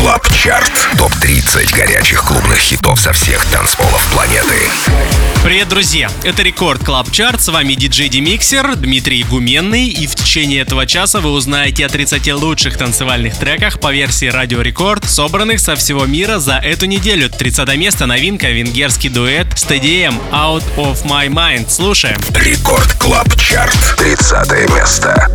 Клаб Чарт. Топ-30 горячих клубных хитов со всех танцполов планеты. Привет, друзья! Это Рекорд Клаб Чарт. С вами диджей Демиксер Дмитрий Гуменный. И в течение этого часа вы узнаете о 30 лучших танцевальных треках по версии Радио Рекорд, собранных со всего мира за эту неделю. 30 место, новинка, венгерский дуэт STDM Out of My Mind. Слушаем. Рекорд Клаб Чарт. 30 место.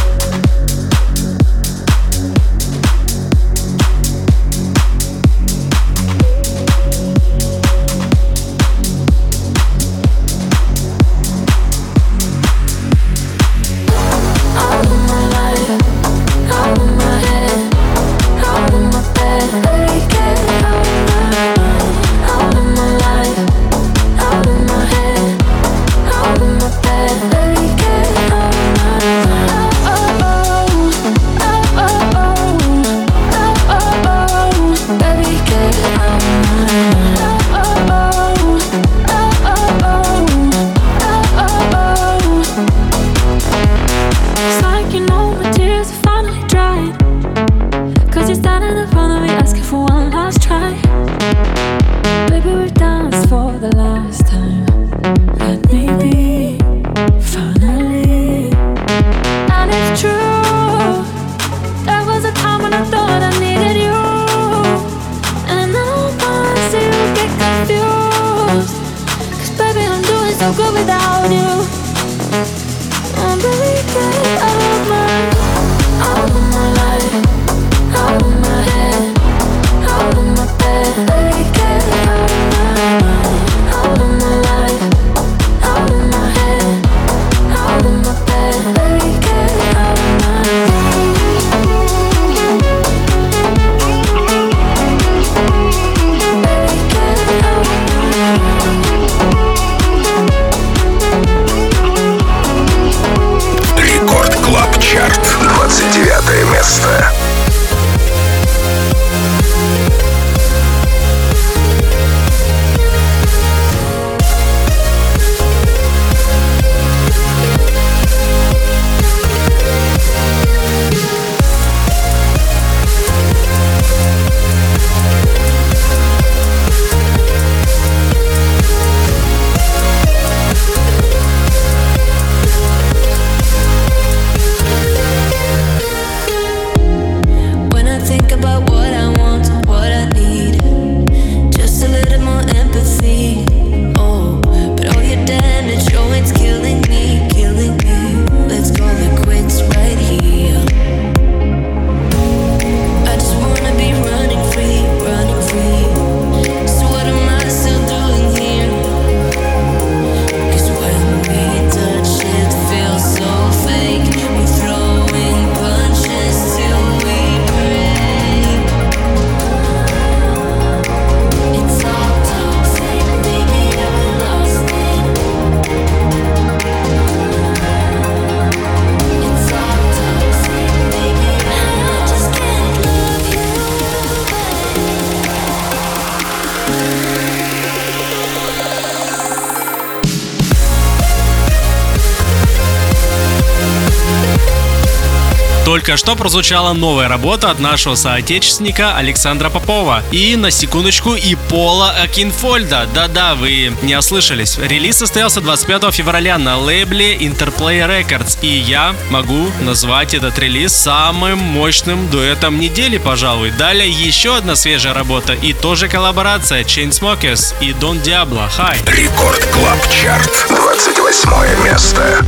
Только что прозвучала новая работа от нашего соотечественника Александра Попова. И, на секундочку, и Пола Акинфольда. Да-да, вы не ослышались. Релиз состоялся 25 февраля на лейбле Interplay Records. И я могу назвать этот релиз самым мощным дуэтом недели, пожалуй. Далее еще одна свежая работа и тоже коллаборация Chainsmokers и Don Diablo. Хай! Рекорд Клаб Чарт. 28 место.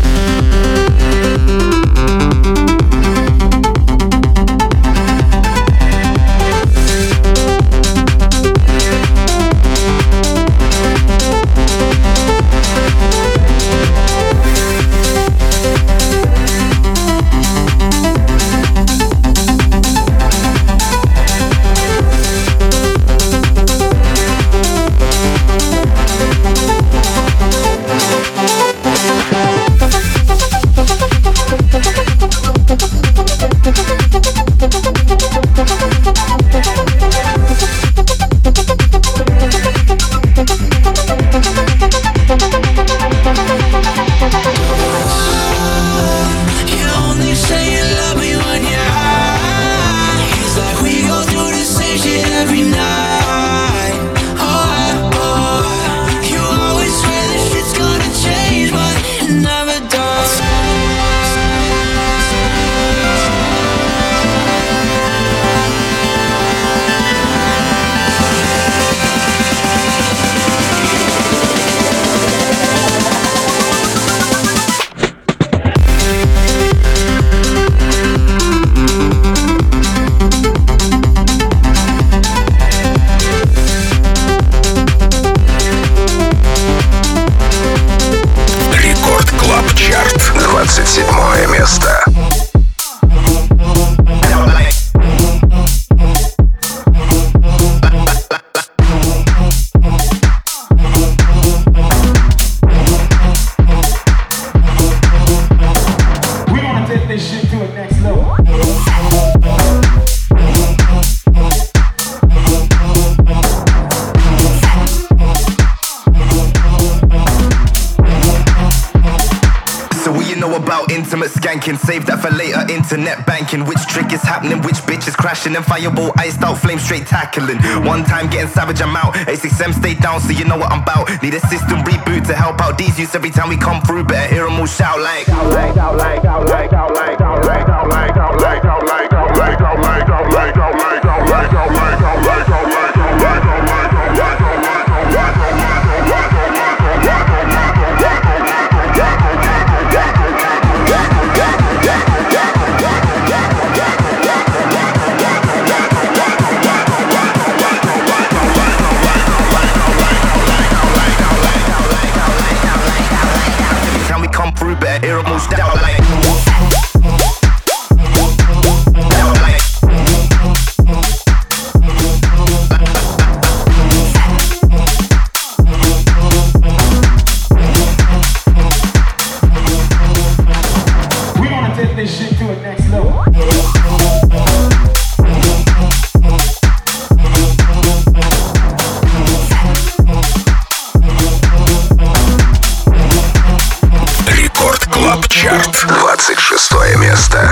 skanking. Save that for later, internet banking. Which trick is happening, which bitch is crashing. And fireball, iced out, flame straight tackling. One time getting savage, I'm out. A6M stay down, so you know what I'm about. Need a system reboot to help out these youths every time we come through. Better hear them all shout like out like out like out like out like out like out like out like out like out like out like out like out like out like out like out like out like better hear 'em all shout like we gonna take this shit to a next level. Клаб Чарт, 26 место.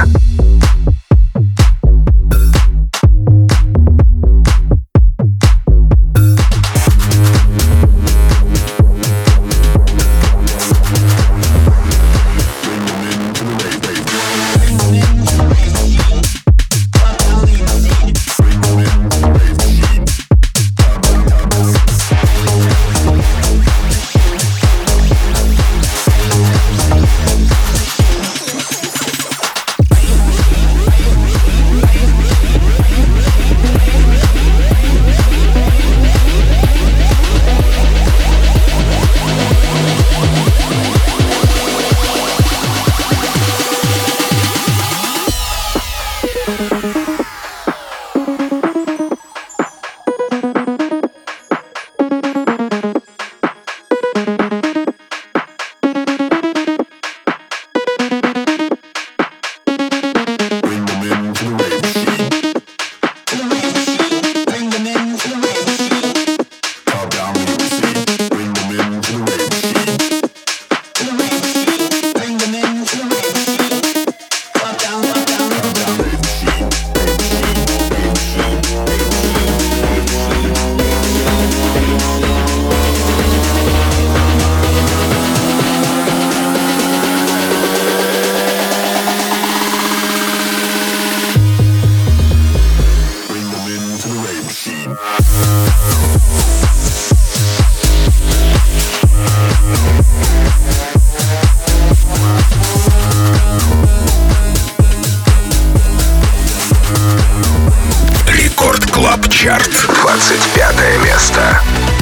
Чарт, 25 место.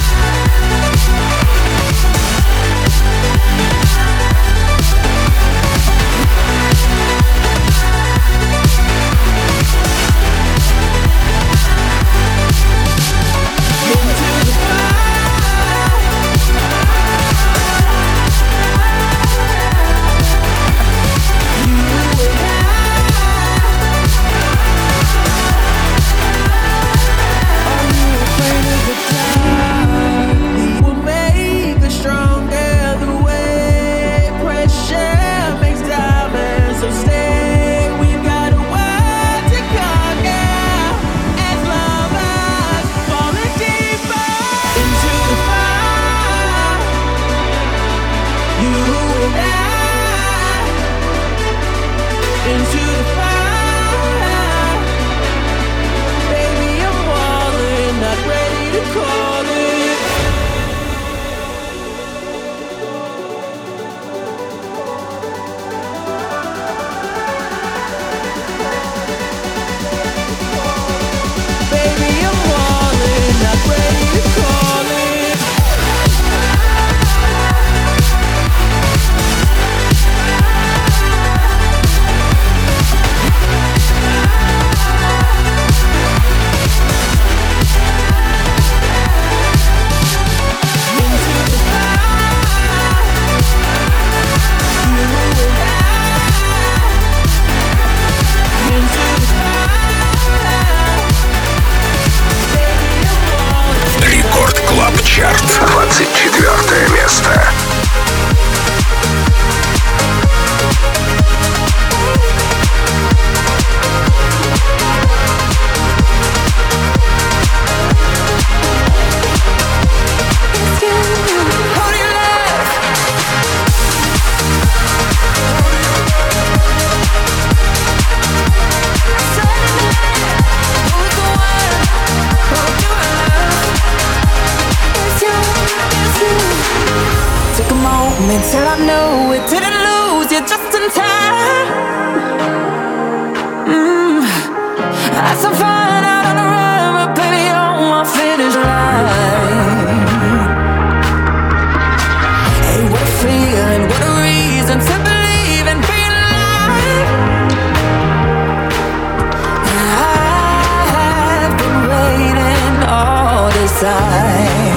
Чарт, 24 место. I know it didn't lose you just in time. Had some fun out on the run, but baby, you're on my finish line. Hey, what a feeling, what a reason to believe in being alive. I've been waiting all this time.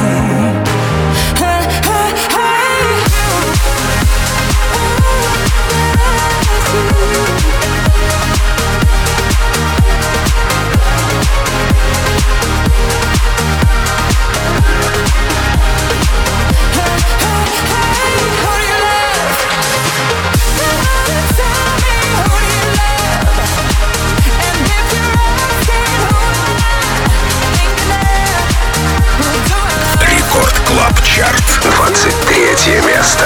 Клаб Чарт, 23 место.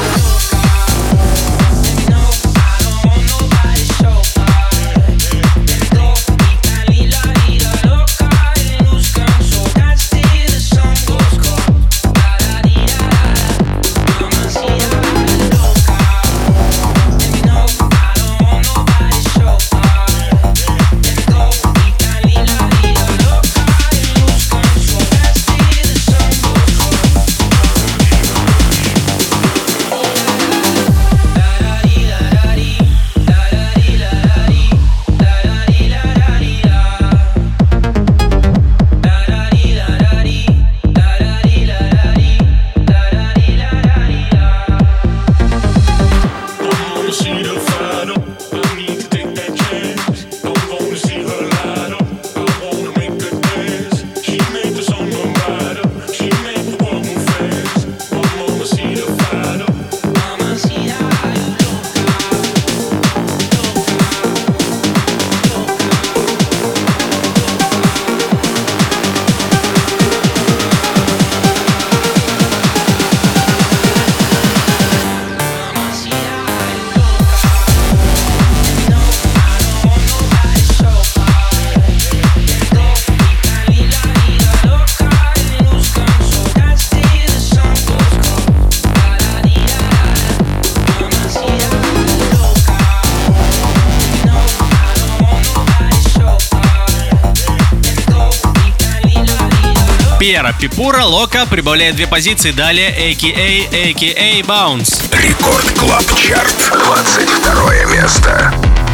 Пьера Пипура Лока прибавляет 2 позиции, далее AKA Bounce. Рекорд Клаб Чарт, 22 место.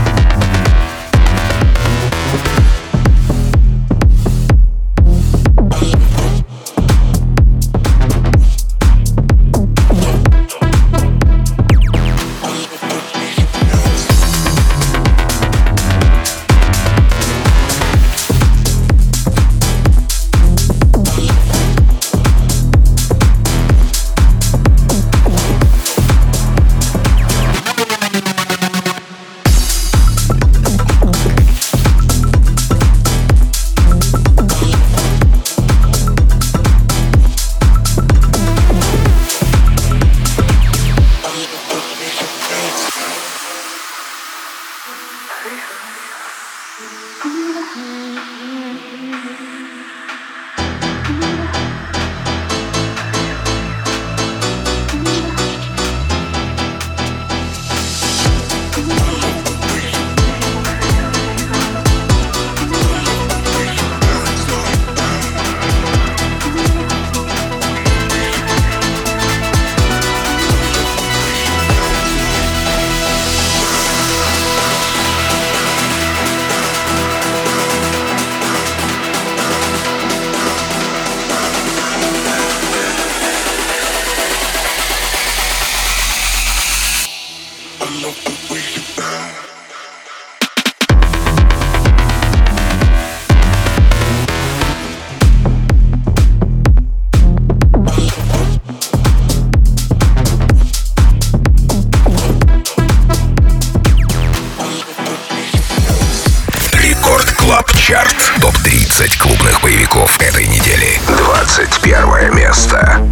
Чарт. Топ-30 клубных боевиков этой недели. 21 место.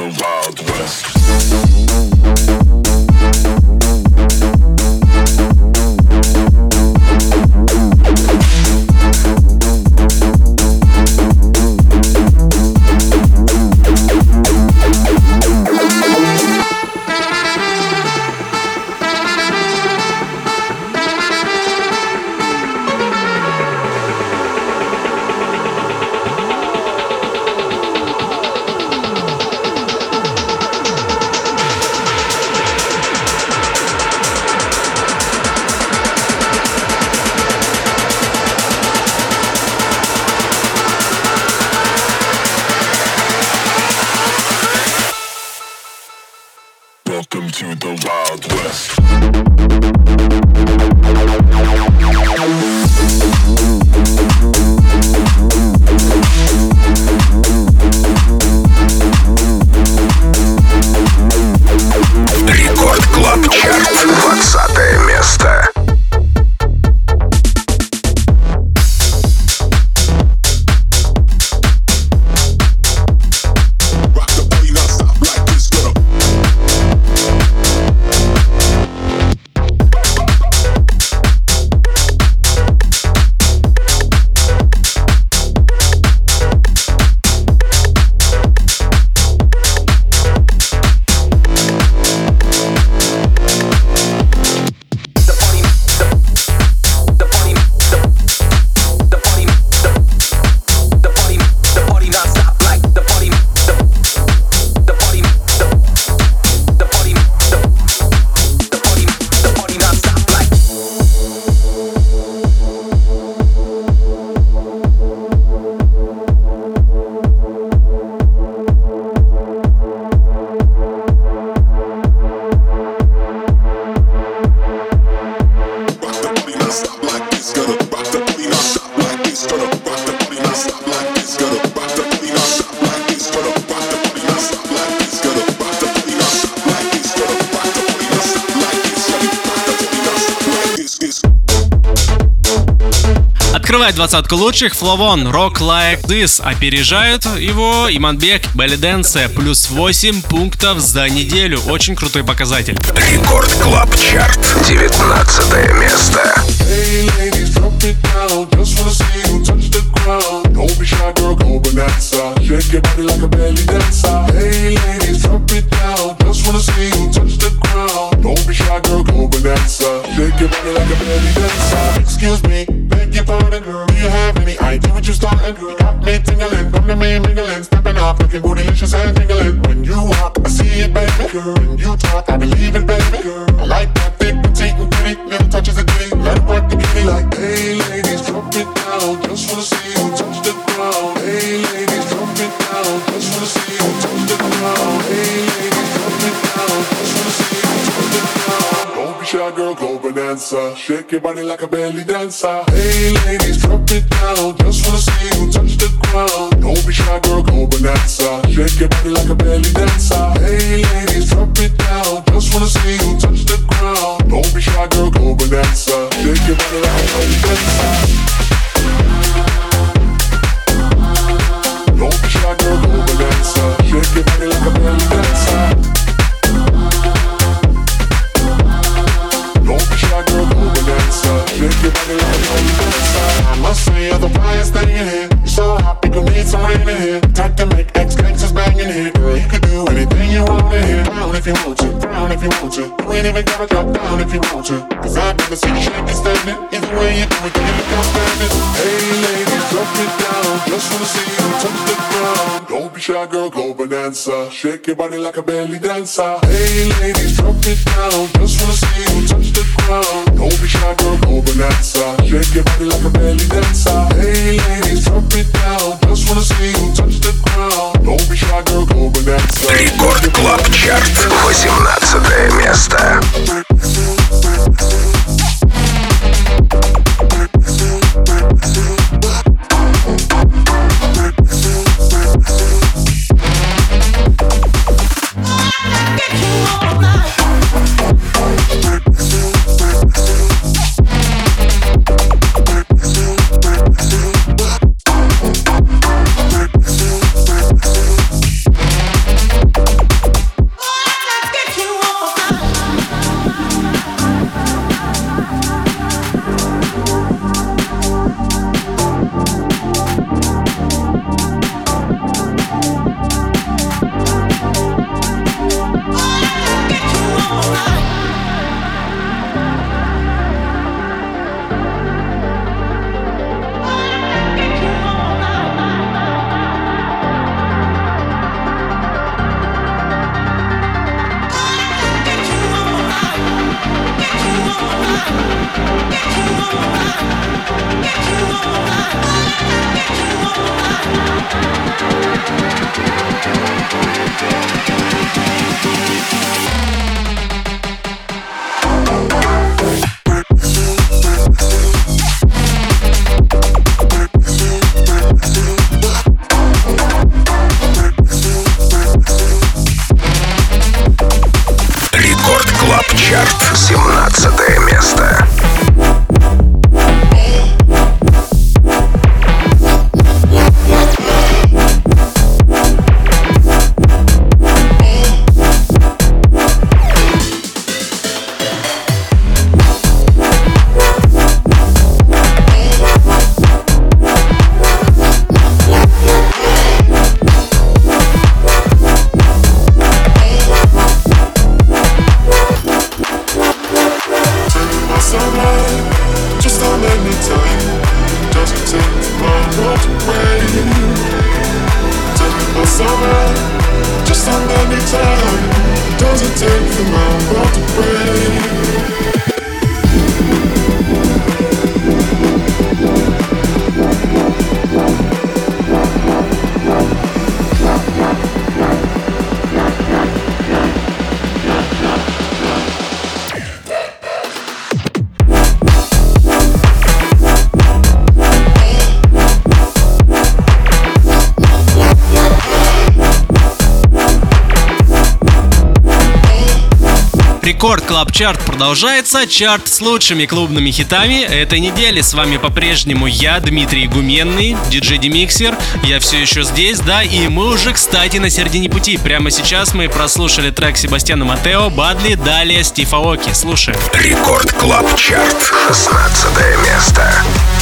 the Wild West. Welcome to the Wild West. Рекорд Клаб Чарт, 20 место. Открывает двадцатку лучших Фловон Rock Like This. Опережают его Иманбек Belly Dance. Плюс 8 пунктов за неделю. Очень крутой показатель. Рекорд Клаб Чарт, 19 место. Hey ladies, drop it down. Just wanna see you touch the ground. Don't be shy, girl, go bonanza. Shake your body like a belly dancer. Hey ladies, drop it down. Just wanna see you touch the ground. Don't be shy, girl, go bonanza. Shake your body like a belly dancer. Excuse me, beg your pardon, girl. Do you have any idea what you're starting, girl? Got me tingling, come to me mingling, stepping off, looking bootylicious and tingling. When you walk, I see it, baby, girl. When you talk, I believe it, baby, girl. I like that thick, petite, and pretty. Little touches of ditty, let it work the kitty. Like, hey ladies, drop it down. Just wanna see you touch the ground. Hey ladies, drop it down. Just wanna see you touch the ground. Hey ladies, drop it down. Just wanna see you touch the ground. Don't be shy, girl, go bonanza. Shake your body like a belly dancer. Hey ladies, drop it down. Just wanna see you touch the ground. Don't be shy, girl, go bonanza. Shake your body like a belly dancer. Hey ladies, drop it down. Just wanna see you touch the ground. Don't be shy, girl, go bonanza. Shake your body like a belly dancer. Don't be shy, girl, go bonanza. Shake your body like a belly dancer. Don't be shy, girl, go bonanza. Shake your body like a belly dancer. I must say you're the brightest thing in here. You're so hot, we could need some rain in here. Time to make ex-gangsters bang in here. Girl, you could do anything you want in here. Down if you want to, down if you want to. You ain't even gotta drop down if you want to. Cause I'd rather see you shake and standing. Either way you do it, you look outstanding. Hey ladies, drop it down. Just wanna see you touch the ground. Don't be shy, girl, go bonanza. Shake your body like a belly dancer. Hey ladies, drop it down. Just wanna see you touch the ground. Don't be shy, girl, go bonanza. Shake your body like a belly dancer. Hey ladies, drop it down. Just wanna see you touch the ground. Don't be shy, girl, go bonanza. Рекорд Клаб Чарт, 18 место. Клаб Чарт, 17 место. Рекорд Клаб Чарт продолжается. Чарт с лучшими клубными хитами этой недели. С вами по-прежнему я, Дмитрий Гуменный, диджей Демиксер. Я все еще здесь, да, и мы уже, кстати, на середине пути. Прямо сейчас мы прослушали трек Себастьяна Матео, Бадли, далее Стив Аоки. Слушаем. Рекорд Клаб Чарт, 16 место.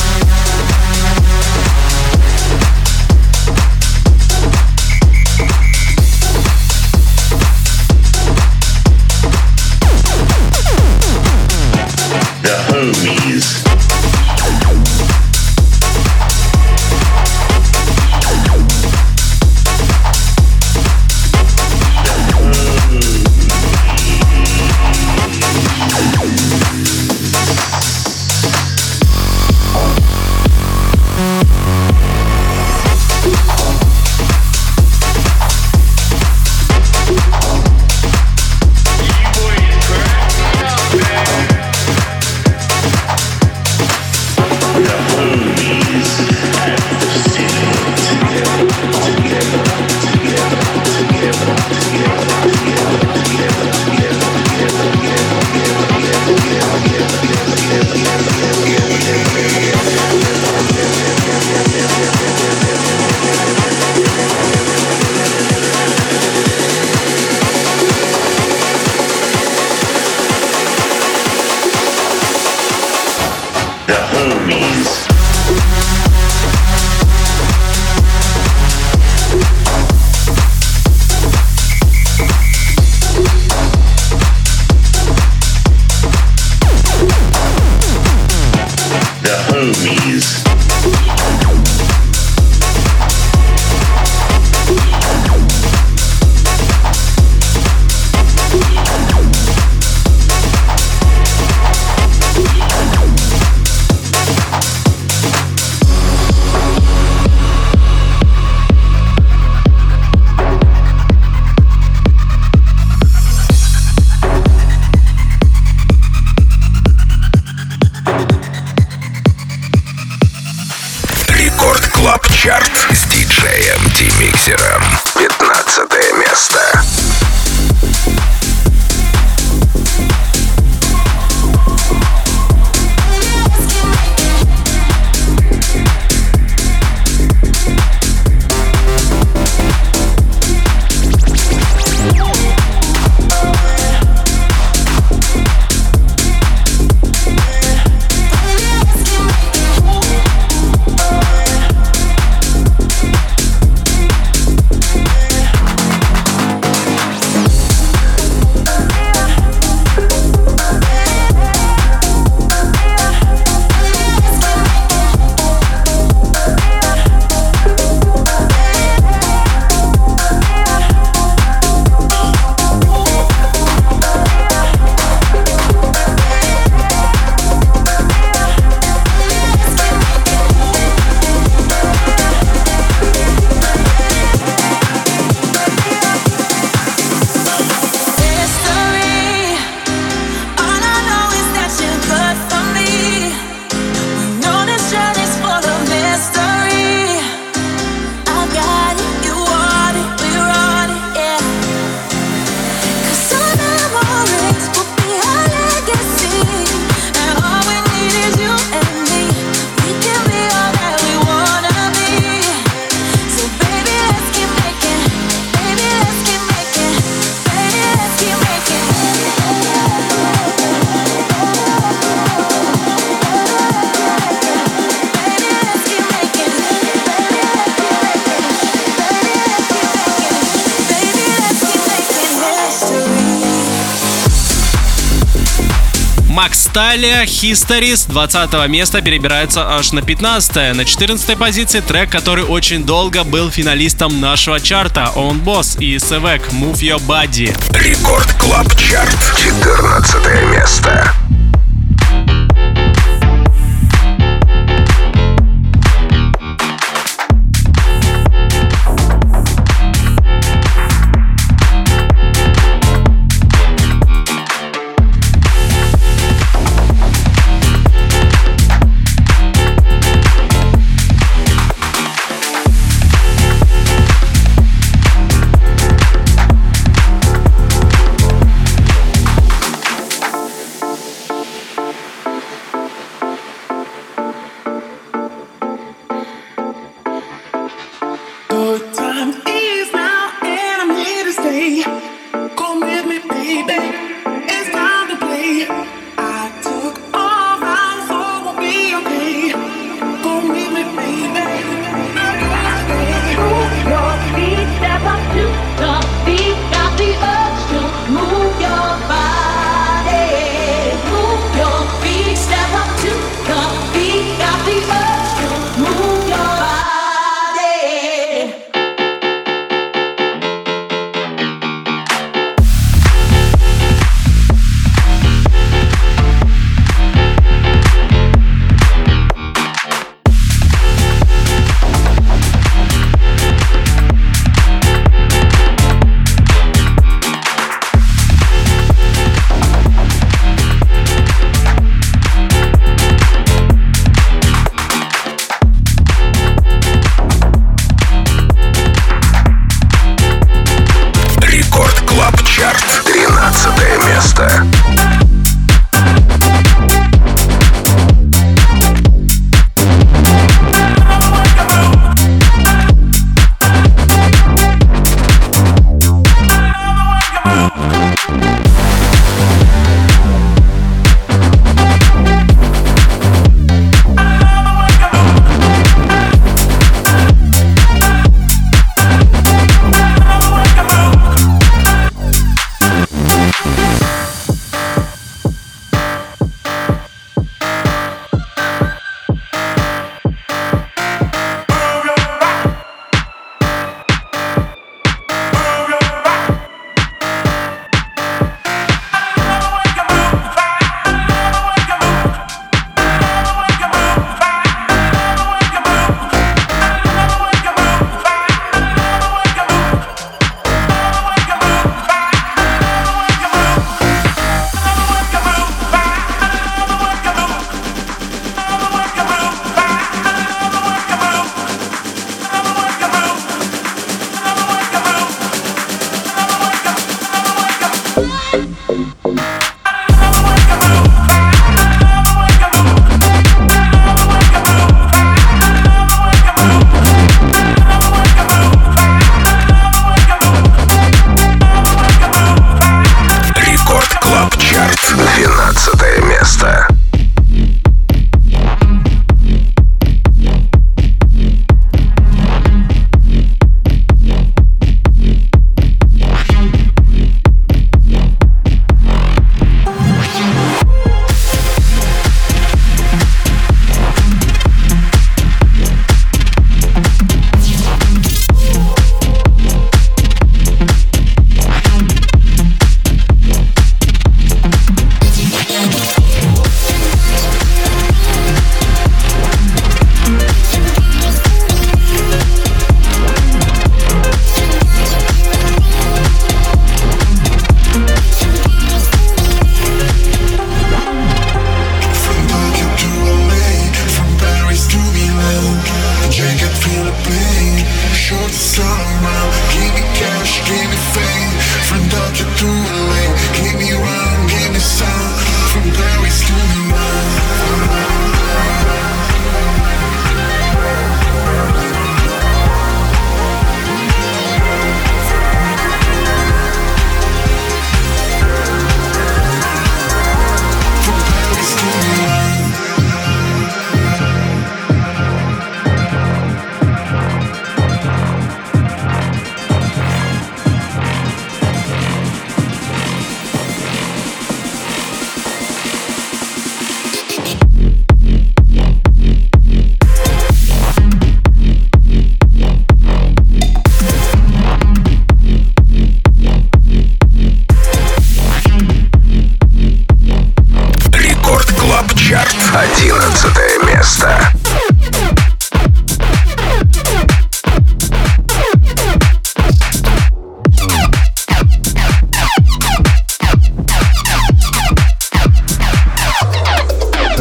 Homies. Макс Талия, History с 20 места перебирается аж на 15. На 14 позиции трек, который очень долго был финалистом нашего чарта. On Boss и Sevek Move Your Body. Рекорд Клаб Чарт. 14 место.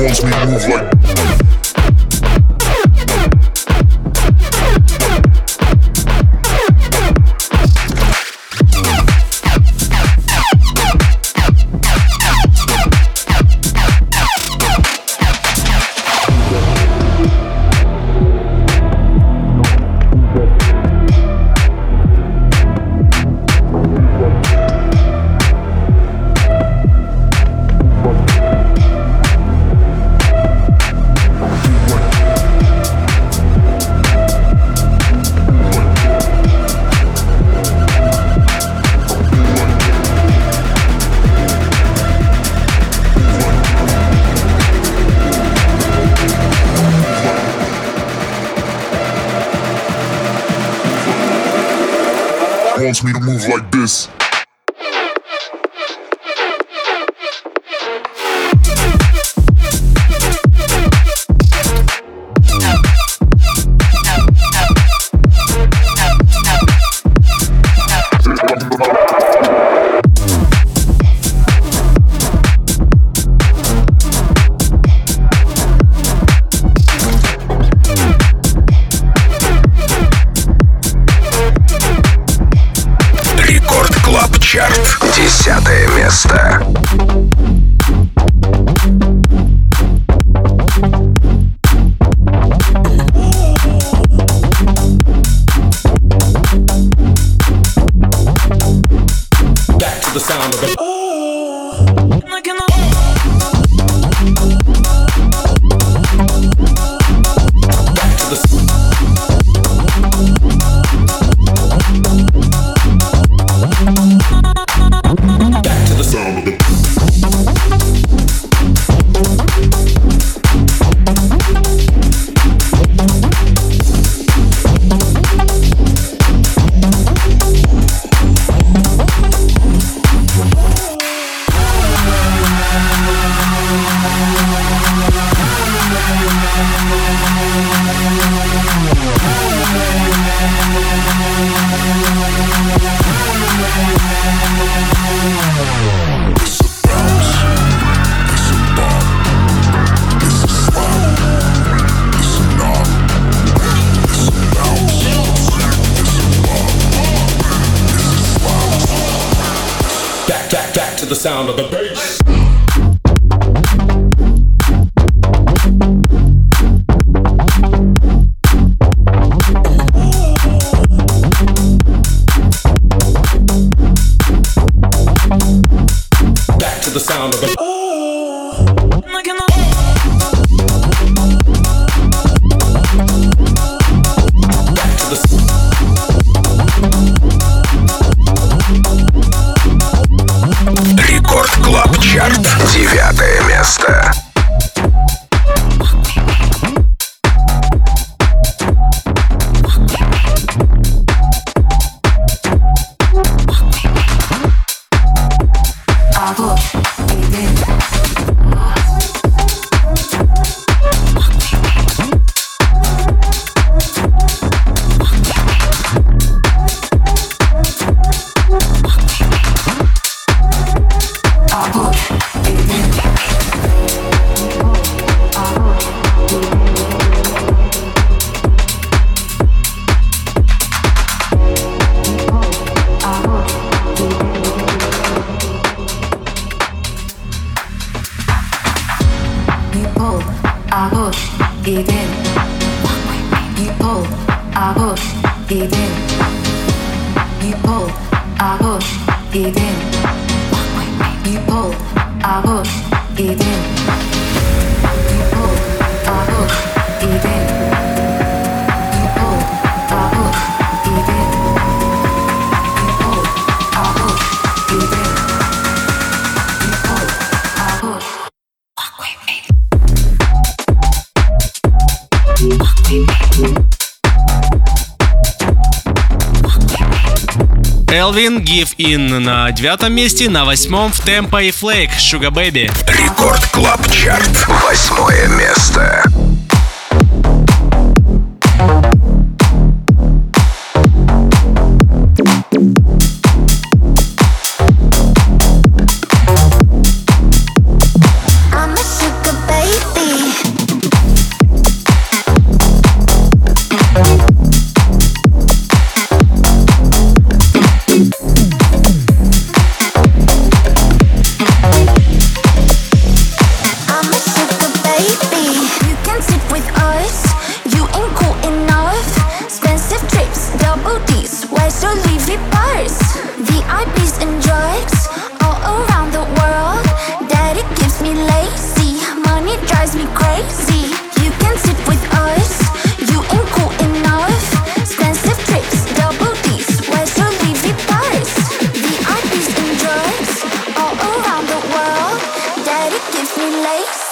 wants me to move like. Wants me to move like this. Чарт. 10 место. Back to the sound of the the sound of the bass. Back to the sound of the Рекорд Клаб Чарт. 9 место. Элвин, Give In на 9 месте, на 8 в Темпо и Flake, Sugar Baby. Рекорд Клаб Чарт. 8 место. I'm a sugar baby.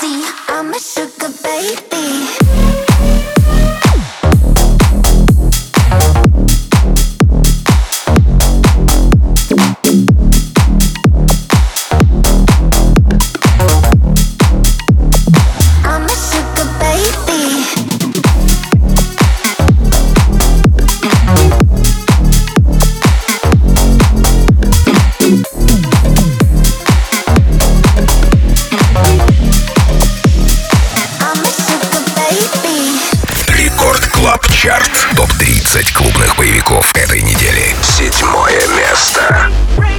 see, I'm a sugar baby. Чарт. Топ-30 клубных боевиков этой недели. 7-е место.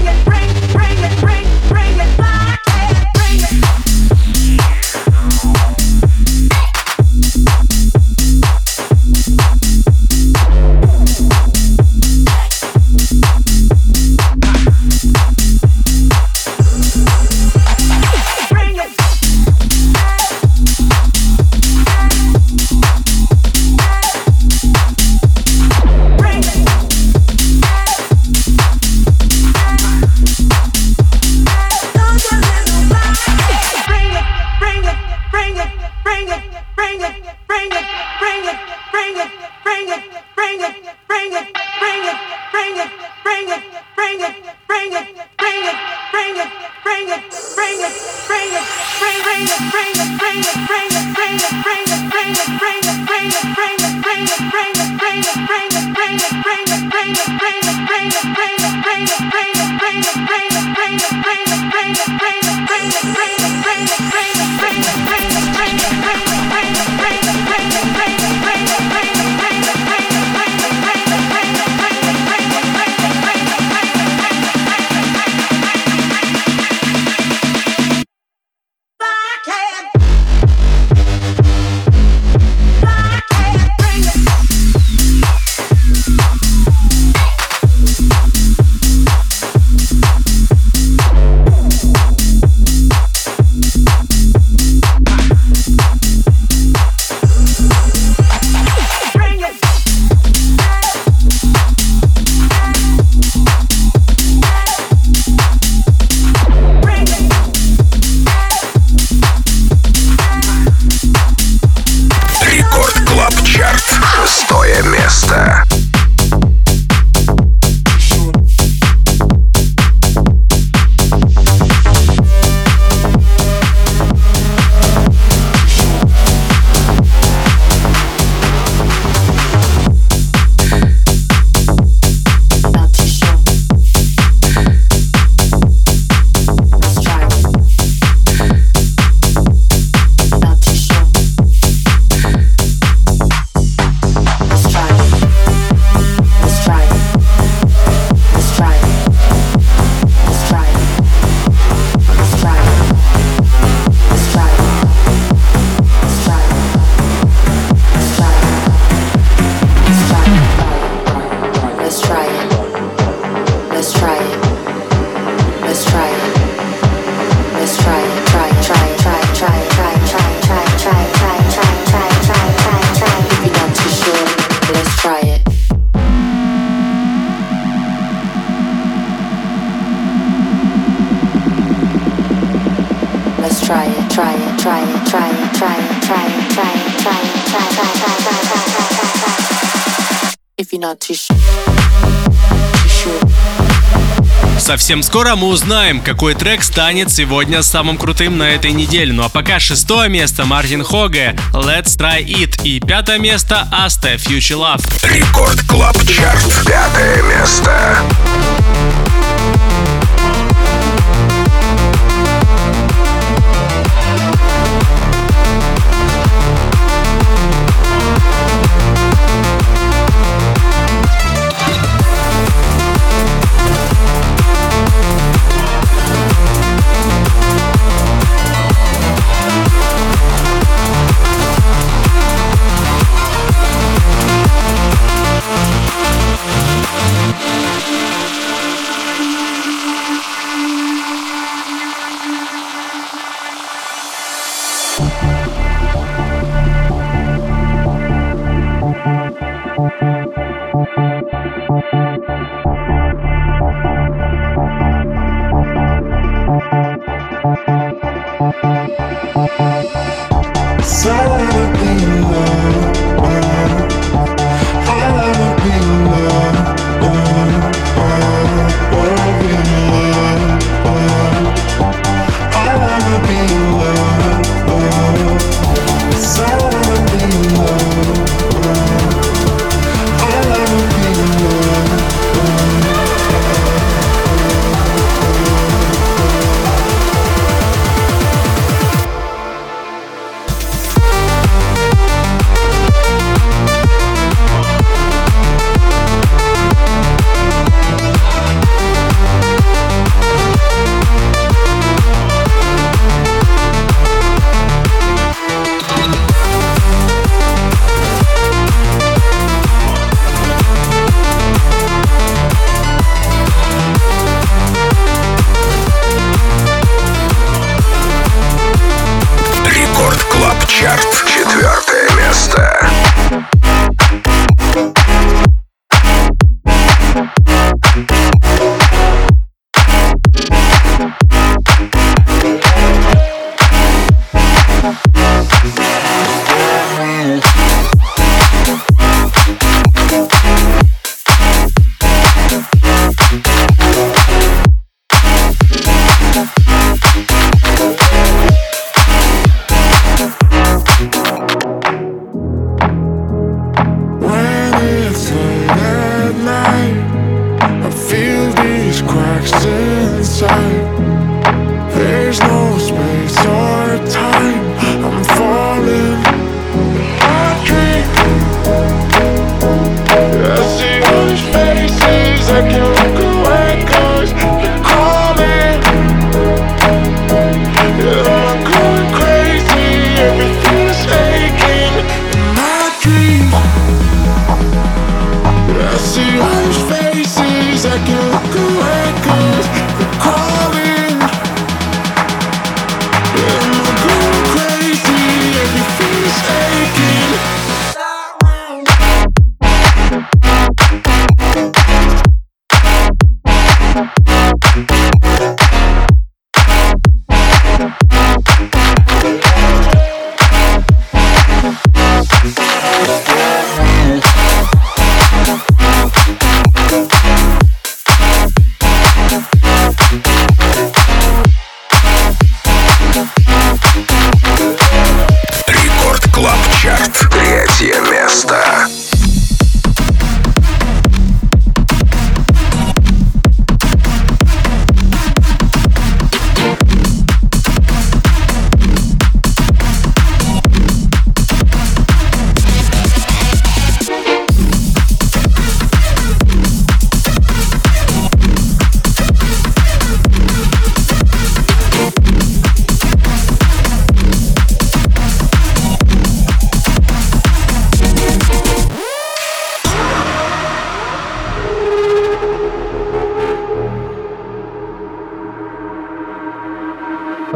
Совсем скоро мы узнаем, какой трек станет сегодня самым крутым на этой неделе. Ну а пока 6-е место Мартин Хоге, Let's Try It. И 5-е место Аста, Future Love. Рекорд Клаб Чарт. 5-е место.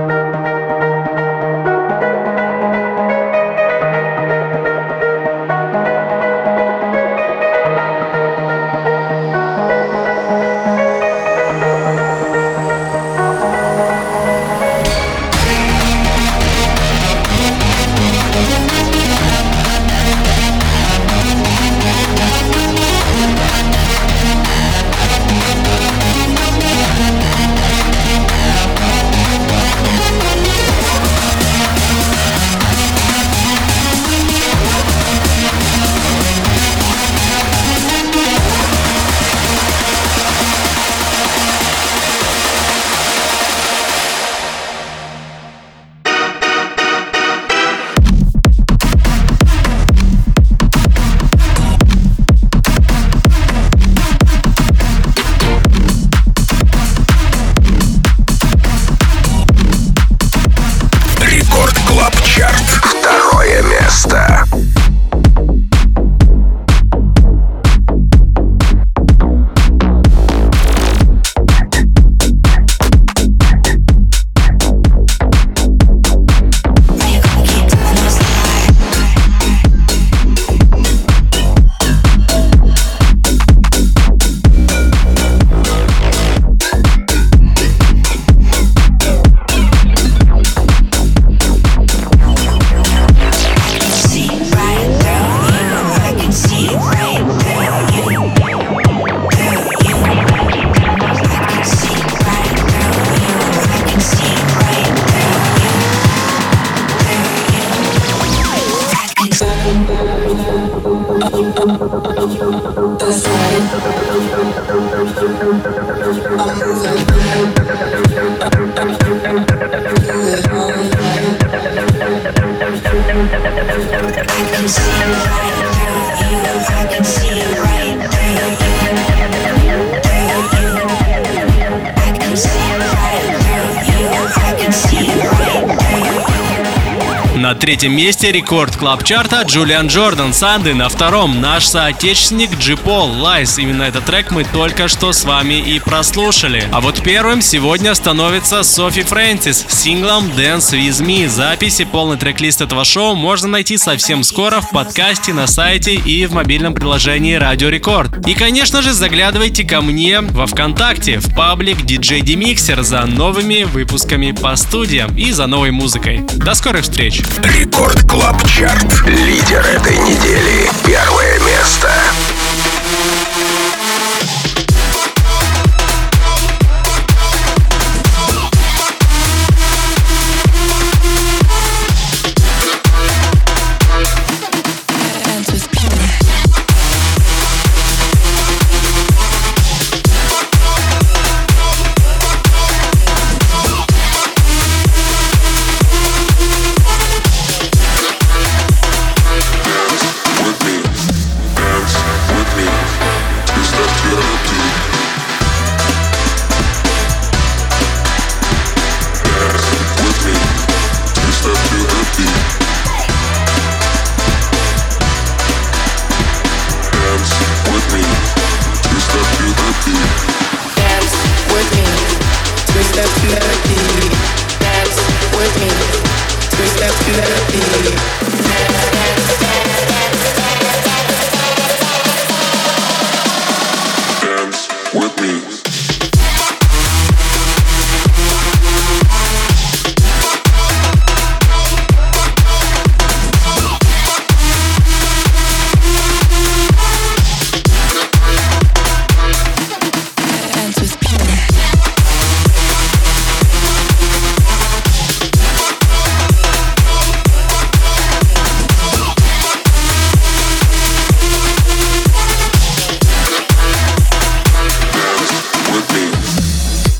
Второе место. На третьем месте рекорд клаб-чарта Джулиан Джордан «Санды». На втором наш соотечественник Джи Пол «Lies». Именно этот трек мы только что с вами и прослушали. А вот первым сегодня становится Софи Фрэнсис с синглом «Dance With Me». Запись и полный трек-лист этого шоу можно найти совсем скоро в подкасте, на сайте и в мобильном приложении Радио Рекорд. И, конечно же, заглядывайте ко мне во ВКонтакте, в паблик DJ Demixer за новыми выпусками по студиям и за новой музыкой. До скорых встреч! Рекорд Клаб Чарт. Лидер этой недели. Первое место.